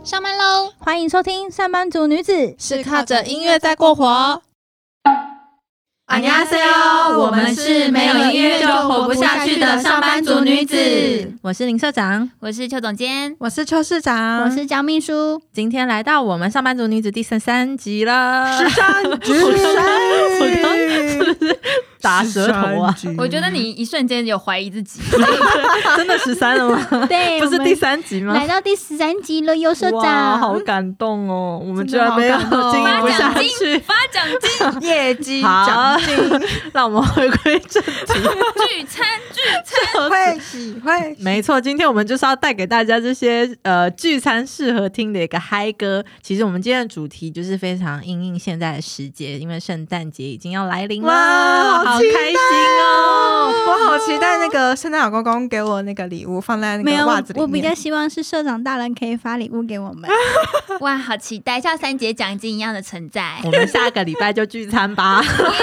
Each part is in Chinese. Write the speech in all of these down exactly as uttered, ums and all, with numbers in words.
上班喽！ 欢迎收听上班族女子是靠着音乐在过活。 안녕하세요，我们是没有音乐就活不下去的上班族女子。 我是林社长， 我是邱总监， 我是邱市长， 我是江秘书。 今天来到我们上班族女子第十三集了， 十三集， 打舌头啊！ 我觉得你一瞬间有怀疑自己， 真的十三了吗？ 对， 不是第三集吗？ 来到第十三集了，尤社长， 好感动哦！我们居然没有经营不下去， 发奖金， 业绩奖金，让我们回归正题。 聚餐，聚餐， 会喜会， 没错，今天我们就是要带给大家这些呃聚餐适合听的一个嗨歌。其实我们今天的主题就是非常因应现在的时节，因为圣诞节已经要来临了。好开心哦！ 我好期待那个圣诞老公公给我那个礼物放在那个袜子里面。 我比较希望是社长大人可以发礼物给我们。 哇，好期待，像三节奖金一样的存在。 我们下个礼拜就聚餐吧。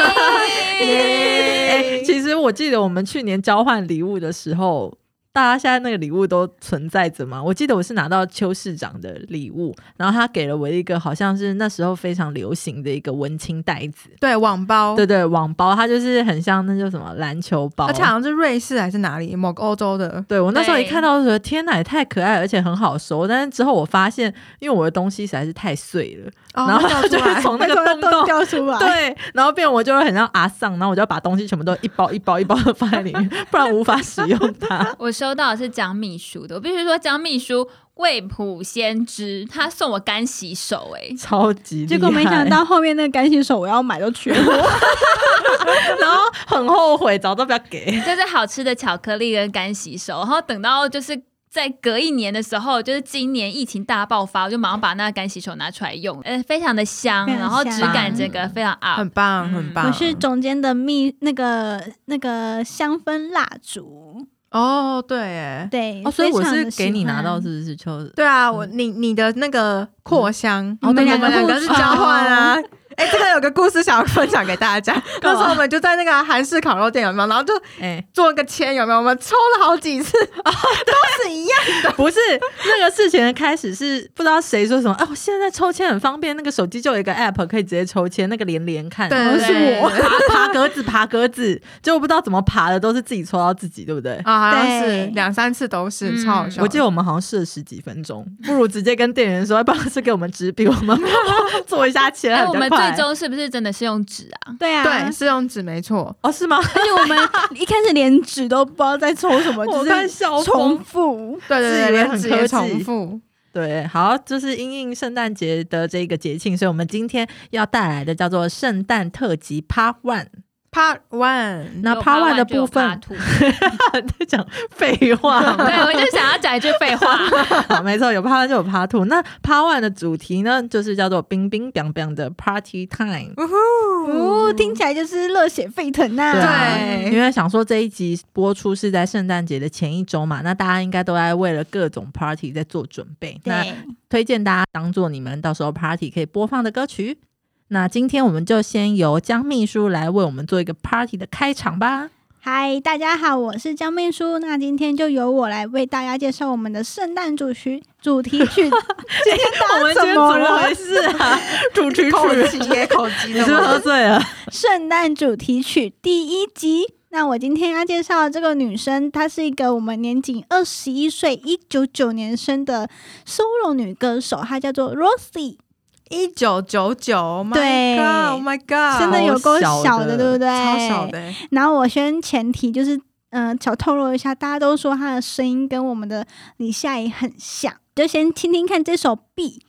欸、其实我记得我们去年交换礼物的时候，大家现在那个礼物都存在着吗？我记得我是拿到邱市长的礼物，然后他给了我一个好像是那时候非常流行的一个文青袋子， 对，网包， 对对，网包，它就是很像那叫什么篮球包， 而且好像是瑞士还是哪里某个欧洲的。 对，我那时候一看到就觉得天哪，也太可爱了，而且很好收。但是之后我发现，因为我的东西实在是太碎了， 哦、 然后它就会从那个洞洞掉出来， 对，然后变我就会很像阿桑，然后我就要把东西全部都一包一包一包的放在里面，不然无法使用它。 我收到的是江秘书的，我必须说江秘书未卜先知，他送我干洗手、欸，哎， 超级厉害。 结果没想到后面那个干洗手我要买都缺货， 然后很后悔，早都不要给。 就是好吃的巧克力跟干洗手，然后等到就是在隔一年的时候，就是今年疫情大爆发，我就马上把那个干洗手拿出来用，呃，非常的香， 非常香， 然后质感整个非常 up， 很棒很棒。 我是总监的蜜那个那个香氛蜡烛。 哦，对耶， 对， 哦，所以我是给你拿到，是不是？秋对啊，我你你的那个扩香， 嗯、 我们两个是交换啊。哎、欸，这个有个故事想要分享给大家。那时候我们就在那个韩式烤肉店，有没有？然后就做个签，有没有？我们抽了好几次，哦、都是一样的。 不是那个事情的开始是不知道谁说什么，哦，现在抽签很方便，那个手机就有一个 app 可以直接抽签，那个连连看。 对，对是我爬爬格子，爬格子，结果不知道怎么爬的，都是自己抽到自己，对不对？ 啊，好像是两三次都是、嗯、超好笑。 我记得我们好像试了十几分钟，不如直接跟店员说，要不然是给我们纸笔，我们做一下签。 哎、我们最终是不是真的是用纸啊？ 对啊， 对，是用纸，没错。 哦，是吗？ 而且我们一开始连纸都不知道在抽什么，就是重复。 对对对， 连纸也重复。 对，好，就是因应圣诞节的这个节庆，所以我们今天要带来的叫做圣诞特辑 Part One。Part One， 那 Part One 的部分在讲废话， 对，我就想要讲一句废话。 好，没错，有 Part One 就有 Part Two。那 Part One 的主题呢，就是叫做冰冰冰冰的 Party Time。 哦，听起来就是热血沸腾啊！ 对啊，因为想说这一集播出是在圣诞节的前一周嘛，那大家应该都在为了各种 Party 在做准备。那推荐大家当做你们到时候 Party 可以播放的歌曲。那今天我们就先由江秘书来为我们做一个 party 的开场吧。 嗨，大家好，我是江秘书。那今天就由我来为大家介绍我们的圣诞主曲主题曲。今天我们今天怎么回事啊？主题曲， 口急耶，口急， 你是不是喝醉了？ 圣诞主题曲第一集。那我今天要介绍的这个女生，她是一个我们年仅二十一岁，一九九九年生的 solo 女歌手，她叫做 Rosie。 一九九九， 对 ，Oh my God， 真的有够小的，对不对？ 超小的。 然后我先前提就是，嗯、呃，小透露一下，大家都说她的声音跟我们的李夏怡很像，就先听听看这首 B。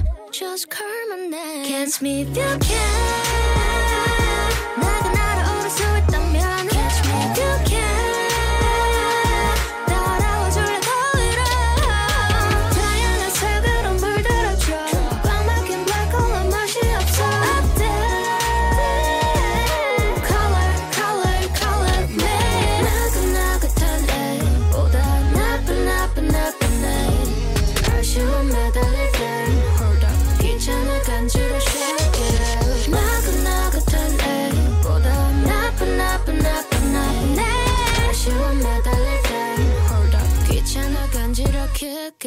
Just call my name. Catch me if you can. 나가 날아오른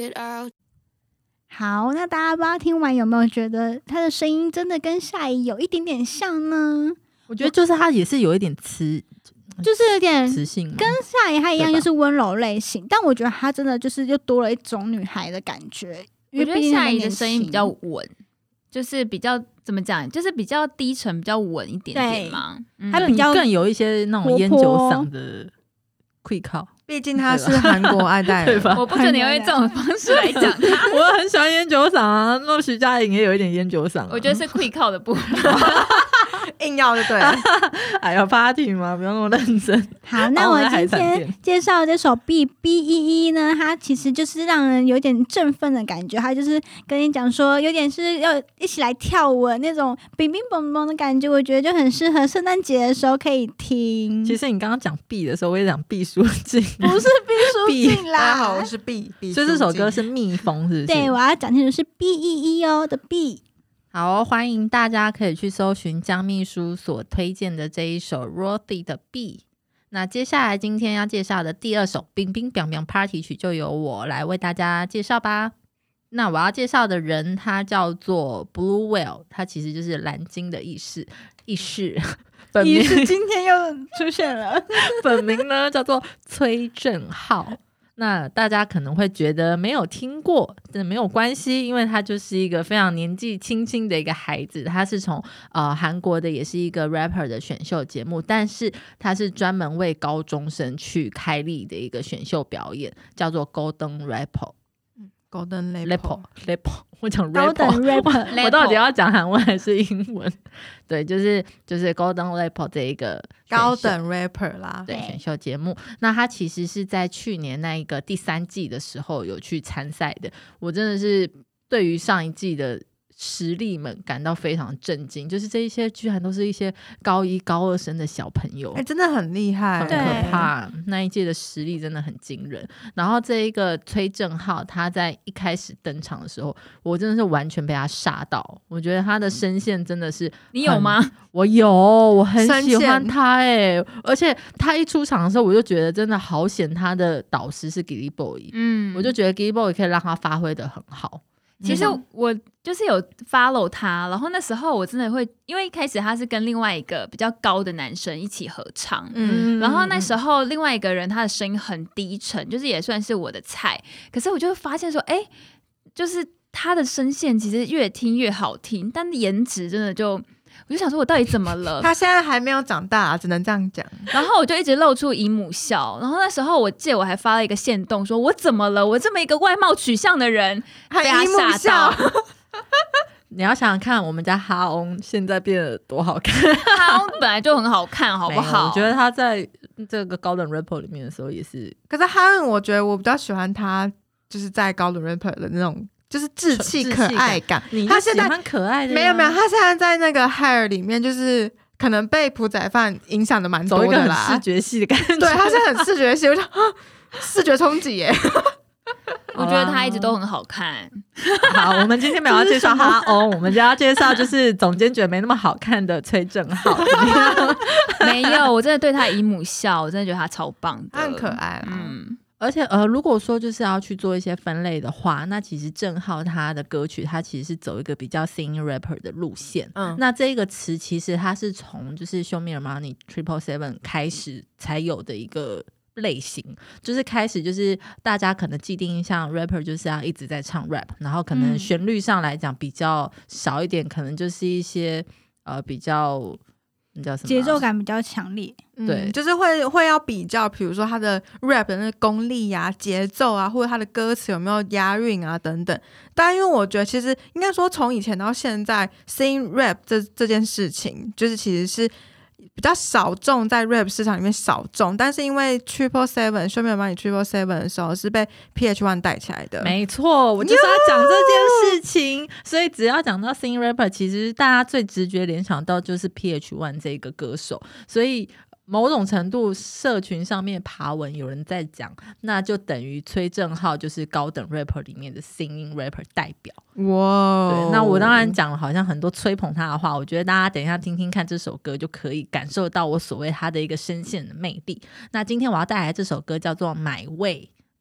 it out。 好，那大家不知道听完有没有觉得他的声音真的跟夏怡有一点点像呢？ 我觉得就是他也是有一点磁， 就是有点磁性， 跟夏怡他一样，就是温柔类型，但我觉得他真的就是又多了一种女孩的感觉。 我觉得夏怡的声音比较稳，就是比较怎么讲，就是比较低沉，比较稳一点点嘛。 嗯、他比较更有一些那种烟酒嗓的会靠。 毕竟他是韩国爱戴人， 我不准你用这种方式来讲他。 我很喜欢烟酒嗓啊，那徐佳莹也有一点烟酒嗓、啊， 我觉得是会靠的部分。 硬要就对了。 哎呀 ，party 嘛，不用那么认真。 好，那我今天介绍这首 B B E E 呢，它其实就是让人有点振奋的感觉，它就是跟你讲说，有点是要一起来跳舞那种冰冰蹦蹦的感觉，我觉得就很适合圣诞节的时候可以听。 其实你刚刚讲 B 的时候，我也讲毕书尽， 不是毕书尽啦。 大家好，我是 B， 所以这首歌是蜜蜂，是不是？ 对，我要讲清楚是 B E E 哦的 B。 好、哦，欢迎大家可以去搜寻江秘书所推荐的这一首 Rothy 的 B。那接下来今天要介绍的第二首冰冰冰冰 Party 曲就由我来为大家介绍吧。那我要介绍的人他叫做 Blue Whale， 他其实就是蓝鲸的意思意思。本名意思今天又出现了， 本名呢叫做崔正浩。那大家可能会觉得没有听过，但没有关系，因为他就是一个非常年纪轻轻的一个孩子，他是从呃韩国的，也是一个 rapper 的选秀节目，但是他是专门为高中生去开立的一个选秀表演，叫做 Golden Rapper。Golden Rapper Rapper 我讲 Rapper 我到底要讲韩文还是英文？对，就是就是 Golden Rapper 这一个高等 rapper 啦， 对，选秀节目。那他其实是在去年那一个第三季的时候有去参赛的。我真的是对于上一季的实力们感到非常震惊，就是这一些居然都是一些高一高二生的小朋友， 哎、欸，真的很厉害， 很可怕。那一届的实力真的很惊人。然后这一个崔正浩，他在一开始登场的时候，我真的是完全被他吓到。我觉得他的声线真的是， 你有吗？ 我有，我很喜欢他哎、欸，而且他一出场的时候，我就觉得真的好险，他的导师是 Gilly Boy， 嗯，我就觉得 Gilly Boy 可以让他发挥的很好。 其实我就是有 follow 他，然后那时候我真的会，因为一开始他是跟另外一个比较高的男生一起合唱，嗯，然后那时候另外一个人他的声音很低沉，就是也算是我的菜，可是我就发现说，哎，就是他的声线其实越听越好听，但颜值真的就。我就想说我到底怎么了， 他现在还没有长大、啊、只能这样讲。 然后我就一直露出姨母笑，然后那时候我记得我还发了一个限动说我怎么了，我这么一个外貌取向的人被他吓到。 你要想想看我们家哈翁现在变得多好看， 哈翁本来就很好看好不好？ 我觉得他在这个高等 rapper 里面的时候也是， 可是哈翁我觉得我比较喜欢他就是在高等 rapper 的那种就是稚气可爱感， 他喜欢可爱的、啊、 没有没有，他现在在那个 Hair 里面就是可能被朴宰范影响的蛮多的啦， 走一个很视觉系的感觉， 对，他是很视觉系，我就视觉冲击耶。 我觉得他一直都很好看。 好，我们今天没有要介绍哈欧，我们就要介绍就是总监觉得没那么好看的崔正浩。 没有，我真的对他姨母笑，我真的觉得他超棒的， 他很可爱、啊。 嗯。 而且呃，如果说就是要去做一些分类的话，那其实正浩他的歌曲，他其实是走一个比较 singing rapper 的路线。嗯，那这个词其实它是从就是 Show Me Your Money Triple Seven 开始才有的一个类型，就是开始就是大家可能既定印象 rapper 就是要一直在唱 rap， 然后可能旋律上来讲比较少一点，嗯、可能就是一些呃比较。 节奏感比较强烈， 对、 嗯，就是会会要比较，比如说他的 rap 的那个功力啊、节奏啊，或者他的歌词有没有押韵啊等等。但因为我觉得，其实应该说从以前到现在 ，sing rap 这这件事情，就是其实是比较少众在 rap 市场里面少众，但是因为 Triple Seven Show Me Your Money Triple Seven 的时候是被 P H One 带起来的， 没错，我就是要讲这件事情。所以只要讲到 sing rapper， 其实大家最直觉联想到就是 P H One 这个歌手，所以某种程度社群上面爬文有人在讲，那就等于崔正浩就是高等 rapper 里面的 singing rapper 代表。 哇， 对，那我当然讲了好像很多吹捧他的话，我觉得大家等一下听听看这首歌就可以感受到我所谓他的一个声线的魅力。那今天我要带来这首歌叫做买位，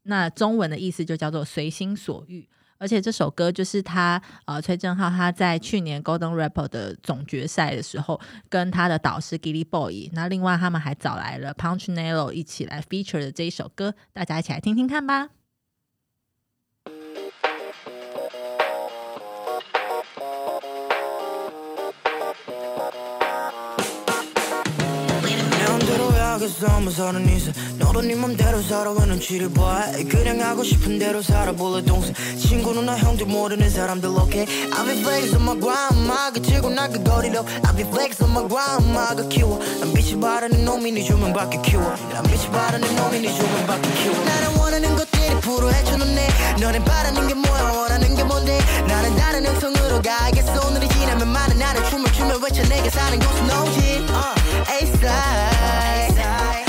那中文的意思就叫做随心所欲。而且这首歌就是他呃崔正浩他在去年 Golden Rapper 的总决赛的时候跟他的导师 Gilly Boy， 那另外他们还找来了 Punchinello 一起来 feature 的这一首歌，大家一起来听听看吧。 사는 인생 너도 네 맘대로 살아 왜 눈치를 봐 그냥 하고 싶은 대로 살아볼래 동생 친구 누나 형들 모르는 사람들 okay I'll be flex on my grind 막 그치고 나 그 거리로 I'll be flex on my grind 막 키워 난 빛이 바라는 놈이 네 조명밖에 키워 난 빛이 바라는 놈이 네 조명밖에 키워 나는 원하는 것들이 프로 헤쳐놓네 너는 바라는 게 뭐야 원하는 게 뭔데 나는 다른 형성으로 가야겠어 오늘이 지나면 많은 나를 춤을 추며 외쳐 내가 사는 곳은 오지 uh, A-side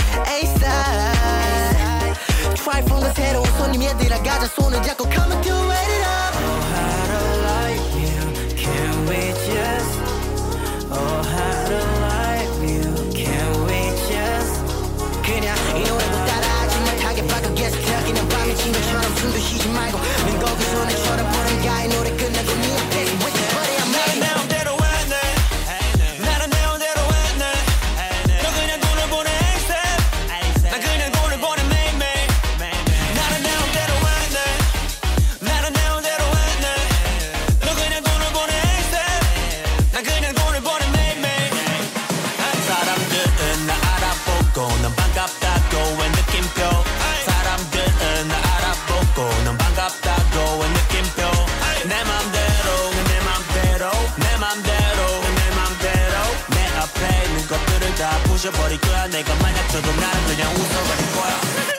A-side Try from the 새로운 손님 얘들아 가자 손을 잡고 come and do it up Oh how to like you Can we just Oh how to like you Can we just 그냥 이 노래도 따라하지 못하게 바꾸겠어 그냥 밤에 친구처럼 숨도 쉬지 말고 넌 거기서 내 쳐다보는 가 이 노래 끝나고 네 앞에서 wait but I'm ready 내 맘대로 했네 나는 내 맘대로 했네 너 그냥 돈을 보내 ASAP 난 그냥 돈을 보내 매일매일 나는 내 맘대로 했네 나는 내 맘대로 했네 너 그냥 돈을 보내 ASAP 난 그냥 돈을 보내 매일매일 사람들은 나 알아보고 넌 반갑다고 왜 느낌표 사람들은 나 알아보고 넌 반갑다고 왜 느낌표 내 맘대로 내 맘대로 내 맘대로 내 맘대로 내 앞에 있는 것들을 다 부셔버릴 거야 내가 만약 쳐도 나는 그냥 웃어버릴 거야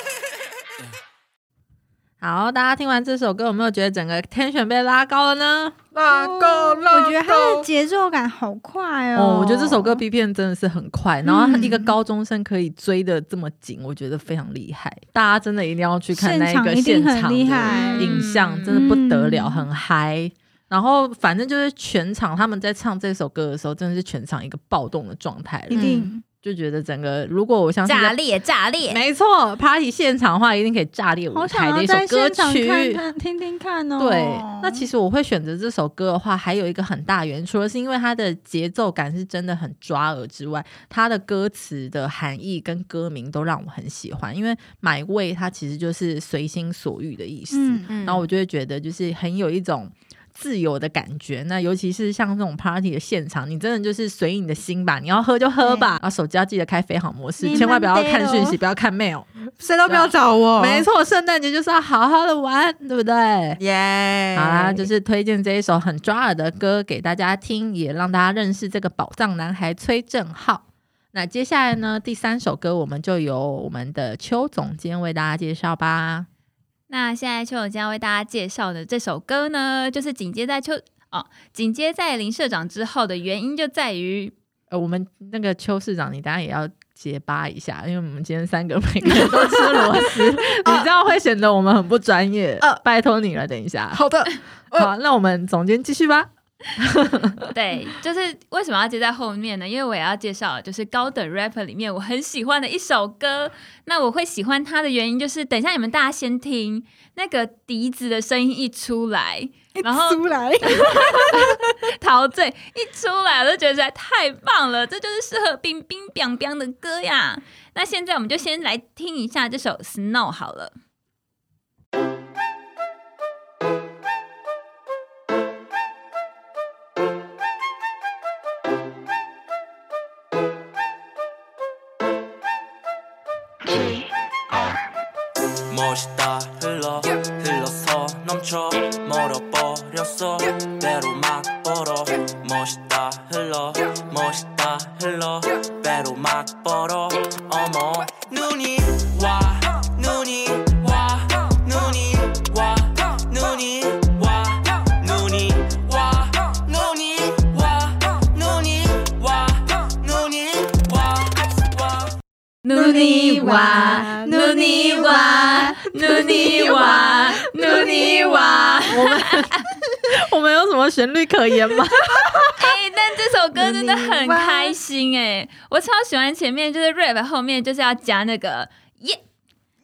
好，大家听完这首歌有没有觉得整个 tension 被拉高了呢？ 拉高拉高， 我觉得它的节奏感好快哦。 哦，我觉得这首歌 B P M 真的是很快，然后一个高中生可以追得这么紧，我觉得非常厉害。大家真的一定要去看那个现场的影像，真的不得了，很嗨。然后反正就是全场他们在唱这首歌的时候，真的是全场一个暴动的状态， 一定。 就觉得整个，如果我相信炸裂炸裂， 没错 ，party 现场的话一定可以炸裂舞台的一首歌曲， 看看听听看哦。 对，那其实我会选择这首歌的话，还有一个很大原因，除了是因为它的节奏感是真的很抓耳之外，它的歌词的含义跟歌名都让我很喜欢。因为 My Way 它其实就是随心所欲的意思，嗯嗯、然后我就会觉得就是很有一种自由的感觉。那尤其是像这种 party 的现场，你真的就是随意你的心吧，你要喝就喝吧，然后手机要记得开飞行模式，千万不要看讯息，不要看 mail， 谁都不要找我。 没错，圣诞节就是要好好的玩，对不对？ 耶、yeah ！ 好啦，就是推荐这一首很抓耳的歌给大家听，也让大家认识这个宝藏男孩崔正浩。那接下来呢，第三首歌我们就由我们的邱总监为大家介绍吧。 那现在邱总监要为大家介绍的这首歌呢，就是紧接在邱哦，紧接在林社长之后的原因就在于， 呃，我们那个邱市长，你当然也要结巴一下，因为我们今天三个每个人都吃螺丝，你这样会显得我们很不专业。呃，拜托你了，等一下。 好的， 呃、好，那我们总监继续吧。 对，就是为什么要接在后面呢？因为我也要介绍，就是高等 rapper 里面我很喜欢的一首歌。那我会喜欢它的原因，就是等一下你们大家先听那个笛子的声音一出来，然后出来， 陶醉一出来，我就觉得实在太棒了，这就是适合冰冰冰冰的歌呀。那现在我们就先来听一下这首 Snow 好了。 멋있다 흘러 흘러서 넘쳐 멀어버렸어 배로 막 벌어 멋있다 흘러 멋있다 흘러 배로 막 벌어 어머 눈이 와 눈이 와 눈이 와 눈이 와 눈이 와 눈이 와 눈이 와 눈이 와 눈이 와 눈이 와 눈이 와 눈이 와 我们我们有什么旋律可言吗？ 哎、欸，但这首歌真的很开心哎、欸，我超喜欢前面就是 rap 后面就是要加那个耶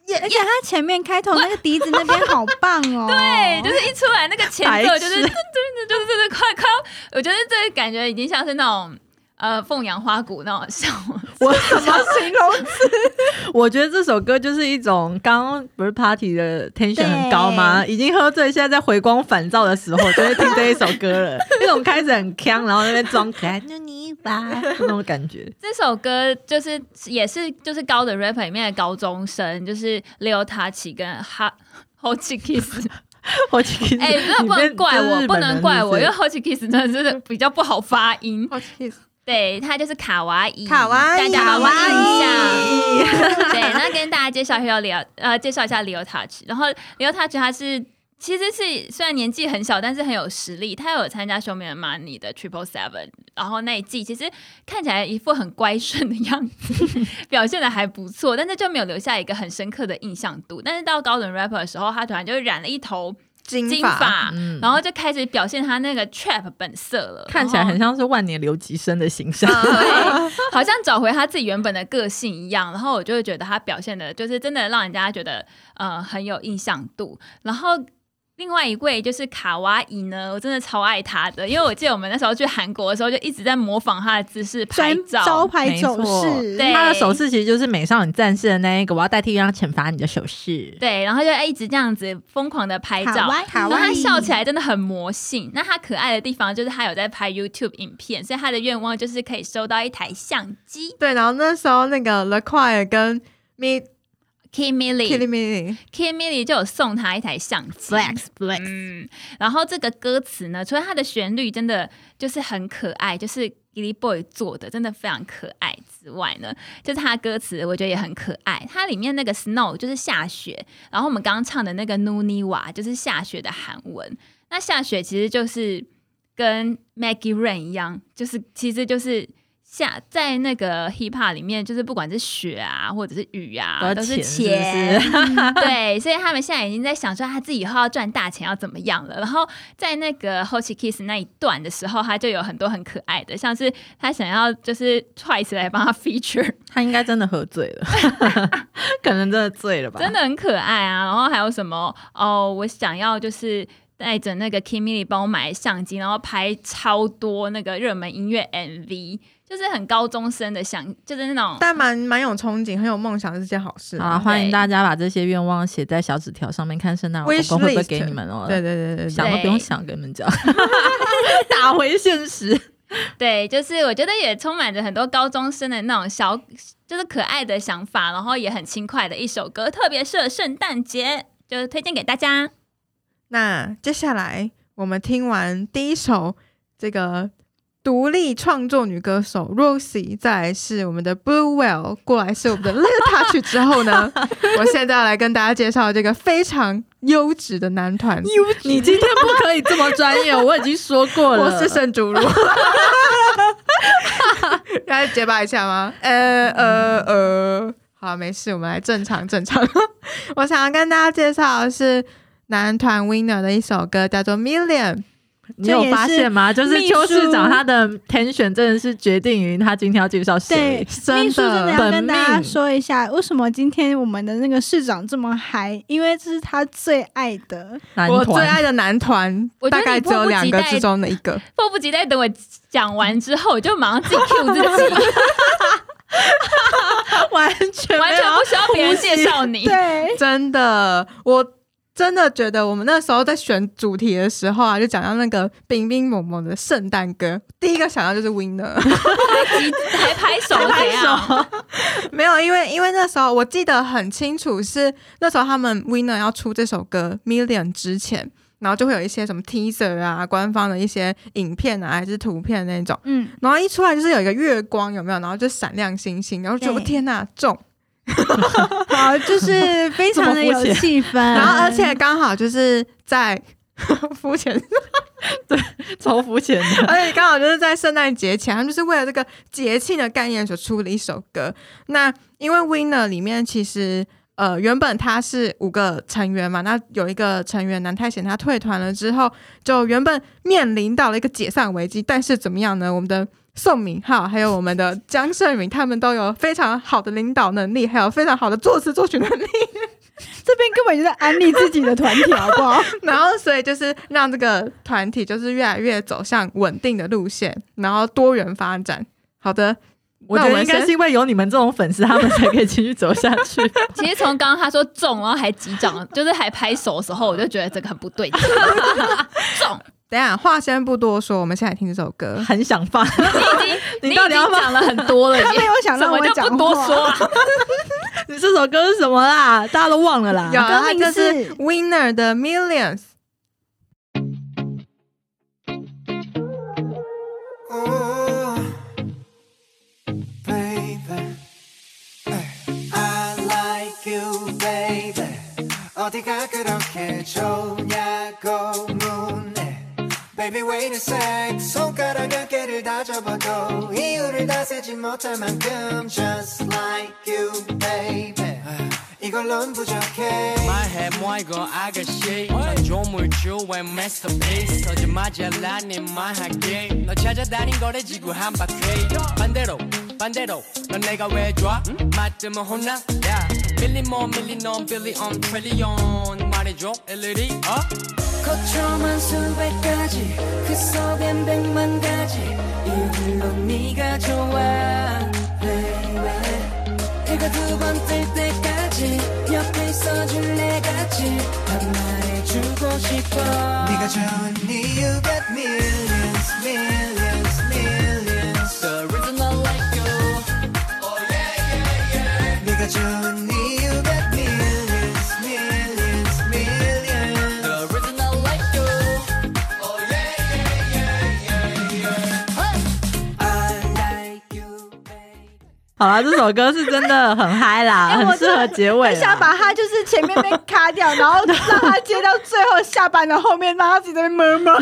而且他前面开头那个笛子那边好棒哦， 对，就是一出来那个前奏就是真的就是真的快快，我觉得这个感觉已经像是那种呃凤阳花鼓那种笑。 我什么形容词？ 我觉得这首歌就是一种刚刚不是 party 的 tension 很高吗？已经喝醉，现在在回光返照的时候，就会听这一首歌了。那种开始很鏘，然后那边装可爱，就你吧，那种感觉。 这首歌就是也是就是高的 rapper 里面的高中生，就是 Lil Tachie 跟哈 Hochkiss。 Hochkiss， 哎，那不能怪我，不能怪我，因为 Hochkiss 真的是比较不好发音。对，他就是卡哇伊， 卡哇伊， 大家有没有印象？对，那跟大家介绍一下 Lil， 呃，介绍一下 Lil Tachie。然后 Lil Tachie 他是其实是虽然年纪很小，但是很有实力。他有参加 Show Me the Money 的 Triple Seven， 然后那一季其实看起来一副很乖顺的样子，表现的还不错，但是就没有留下一个很深刻的印象度。但是到高等 rapper 的时候，他突然就染了一头金发、嗯，然后就开始表现他那个 trap 本色了， 看起来很像是万年留级生的形象， 对，好像找回他自己原本的个性一样。然后我就会觉得他表现的就是真的让人家觉得呃很有印象度。然后另外一位就是卡哇伊呢，我真的超爱他的，因为我记得我们那时候去韩国的时候，就一直在模仿他的姿势拍照， 招牌手势。 对， 他的手势其实就是美少女战士的那一个，我要代替让惩罚你的手势。 对，然后就一直这样子疯狂的拍照，然后他笑起来真的很魔性。那他可爱的地方就是他有在拍 YouTube 影片，所以他的愿望就是可以收到一台相机。 对，然后那时候那个 The Choir 跟 Me。Kim Millie Kim Millie 就有送他一台相机 Flex Flex、 嗯、然后这个歌词呢，除了它的旋律真的就是很可爱，就是 Gilly Boy 做的真的非常可爱之外呢，就是它的歌词我觉得也很可爱。它里面那个 Snow 就是下雪，然后我们刚刚唱的那个 Nuniwa 就是下雪的韩文。那下雪其实就是跟 Maggie Rain 一样，就是其实就是下在那个 hip hop 里面，就是不管是雪啊或者是雨啊，都是钱，是是对，所以他们现在已经在想说他自己以后要赚大钱要怎么样了。然后在那个 Hochkiss 那一段的时候，他就有很多很可爱的，像是他想要就是 Twice 来帮他 feature， 他应该真的喝醉了，可能真的醉了吧， 真的很可爱啊。然后还有什么哦，我想要就是带着那个 Kim Millie 帮我买相机，然后拍超多那个热门音乐 M V， 就是很高中生的想，就是那种， 但蛮蛮有憧憬，很有梦想，是件好事啊！欢迎大家把这些愿望写在小纸条上面，看圣诞老公公会不会给你们哦。 对对对对， 想都不用想，跟你们讲，打回现实。 对，就是我觉得也充满着很多高中生的那种小，就是可爱的想法，然后也很轻快的一首歌，特别适合圣诞节，就推荐给大家。 那接下来我们听完第一首这个独立创作女歌手 Roxy， 再来是我们的 Blue Whale， 过来是我们的 Lil Tachie 之后呢，我现在要来跟大家介绍这个非常优质的男团。 你今天不可以这么专业，我已经说过了， 我是圣主如。要结巴一下吗？呃呃呃，好，没事，我们来正常正常。我想要跟大家介绍的是男团 Winner 的一首歌，叫做 Million。 你有发现吗？就是邱市长他的 tension 真的是决定于他今天要介绍谁。 对，秘书真的要跟大家说一下，为什么今天我们的那个市长这么嗨？因为这是他最爱的男团， 我最爱的男团，大概只有两个之中的一个。 迫不及待等我讲完之后，我就马上自己 cue 自己。 完全完全不需要别人介绍你。 对， 真的，我真的觉得我们那时候在选主题的时候啊，就讲到那个冰冰萌萌的圣诞歌，第一个想到就是 Winner， 还拍手，还拍手， 没有，因为因为那时候我记得很清楚，是那时候他们 Winner 要出这首歌 Million 之前。然后就会有一些什么 teaser 啊，官方的一些影片啊，还是图片那种，嗯，然后一出来就是有一个月光，有没有？然后就闪亮星星，然后就觉得天哪，中， 好，就是非常的有气氛， 然后而且刚好就是在肤浅， 对，超肤浅的， 而且刚好就是在圣诞节前，他们就是为了这个节庆的概念所出的一首歌。那因为 Winner 里面其实。呃，原本他是五个成员嘛，那有一个成员南泰贤他退团了之后，就原本面临到了一个解散危机，但是怎么样呢？我们的宋敏浩还有我们的江胜敏，他们都有非常好的领导能力，还有非常好的作词作曲能力， 这边根本就在安利自己的团体，好不好？ 然后所以就是让这个团体就是越来越走向稳定的路线，然后多元发展。好的， 我觉得应该是因为有你们这种粉丝，他们才可以继续走下去。 其实从刚刚他说中，然后还击掌，就是还拍手的时候，我就觉得这个很不对劲。中。 等一下，话先不多说，我们现在听这首歌。 很想放， 你到底要讲了很多了， 他没有想让我讲话， 不多说。 你这首歌是什么啦？大家都忘了啦。 有，它名就是 Winner 的 Millions。 Baby wait a sec 손가락 어깨를 다 접어도 이유를 다 세지 못할 만큼 Just like you baby 이걸론 부족해 말해 뭐 이거 아가씨 조물주의 masterpiece 서지마자 라니 말할게 너 찾아다닌 거래 지구 한 바퀴 반대로 반대로 넌 내가 왜 좋아 맞으면 혼나 yeah. 밀리 뭐 밀리 넌 빌리 on 트릴리언 말해줘 일일이 어? 거쳐만 수백 가지 그 속엔 백만 가지 이유들로 네가 좋아 baby 이거 두 번 뜰 때까지 옆에 있어줄래 같이 한 말해주고 싶어 네가 좋은 이유 got millions millions millions The reason I like you Oh yeah yeah yeah 네가 좋은 이유 got millions millions millions The reason I like you Oh yeah yeah yeah yeah yeah I like you baby 好啦，这首歌是真的很嗨啦， 欸、 很适合结尾啦。 很想把它就是前面被卡掉，然后让它接到最后下班的后面，让它自己在那边摸摸。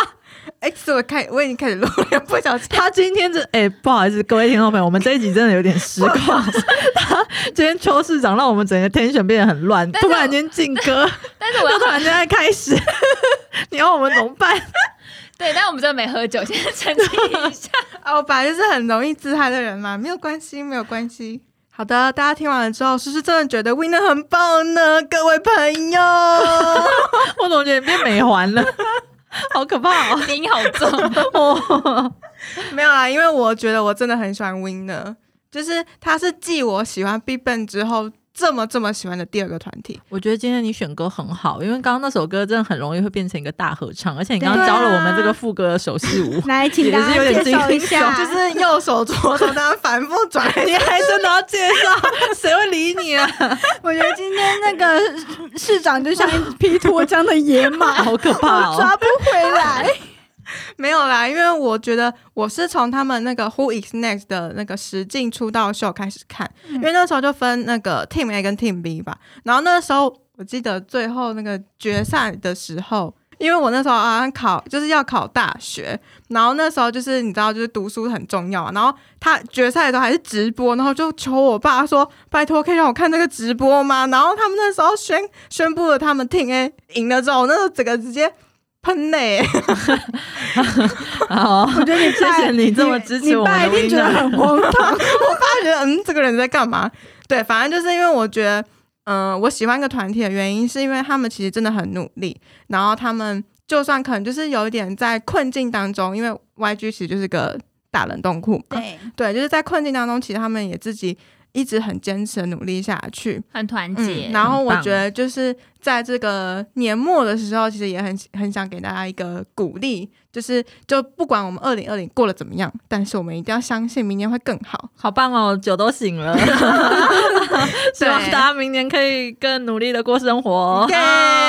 X 我开我已经开始录了，不小心。 他今天这哎、欸，不好意思，各位听众朋友，我们这一集真的有点失控。他今天邱市长让我们整个 tension 变得很乱，突然间进歌， 但是我要突然间在开始，你要我们怎么办？ 对，但我们真的没喝酒，先澄清一下。 啊，我本来就是很容易自嗨的人嘛，没有关系，没有关系。好的，大家听完了之后，是不是真的觉得 Winner 很棒呢？各位朋友， 我怎么觉得你变美环了？好可怕哦， 音好重哦。 没有啦，因为我觉得我真的很喜欢 Winner， 就是他是继我喜欢 BigBang 之后这么这么喜欢的第二个团体。 我觉得今天你选歌很好，因为刚刚那首歌真的很容易会变成一个大合唱，而且你刚刚教了我们这个副歌的手势舞， 来，请大家介绍一下， 就是右手左手，大家反复转， 你还真的要介绍？谁会理你啊？ 我觉得今天那个市长就像一匹脱缰的野马， 好可怕哦， 抓不回来。 没有啦，因为我觉得我是从他们那个 Who is Next 的那个实境出道秀开始看，嗯、因为那时候就分那个 Team A 跟 Team B 吧。然后那时候我记得最后那个决赛的时候，因为我那时候好像考就是要考大学，然后那时候就是你知道就是读书很重要嘛，然后他决赛的时候还是直播，然后就求我爸说拜托可以让我看这个直播吗？然后他们那时候宣宣布了他们 Team A 赢了之后，我那时候整个直接喷泪、欸， 好， 我觉得你谢谢你这么支持我们的 Winner， 你爸一定觉得很荒唐。我爸觉得嗯，这个人在干嘛？对，反正就是因为我觉得，嗯、呃，我喜欢一个团体的原因，是因为他们其实真的很努力，然后他们就算可能就是有一点在困境当中，因为 Y G 其实就是个大冷冻库嘛， 对对，就是在困境当中，其实他们也自己一直很坚持努力下去， 很团结、 嗯。然后我觉得就是在这个年末的时候，其实也很很想给大家一个鼓励，就是就不管我们二零二零过得怎么样，但是我们一定要相信明年会更好。 好棒哦，酒都醒了，希望大家明年可以更努力的过生活。 耶、yeah, ！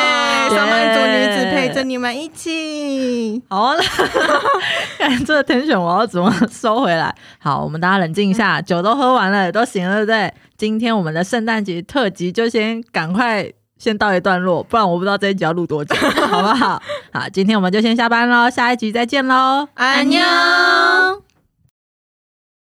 上班族女子陪着你们一起。 好，看这个 tension 我要怎么收回来？好，我们大家冷静一下，酒都喝完了，都醒了，对不对？今天我们的圣诞节特辑就先赶快先到一段落，不然我不知道这一集要录多久，好不好？好，今天我们就先下班咯，下一集再见咯， 安妞。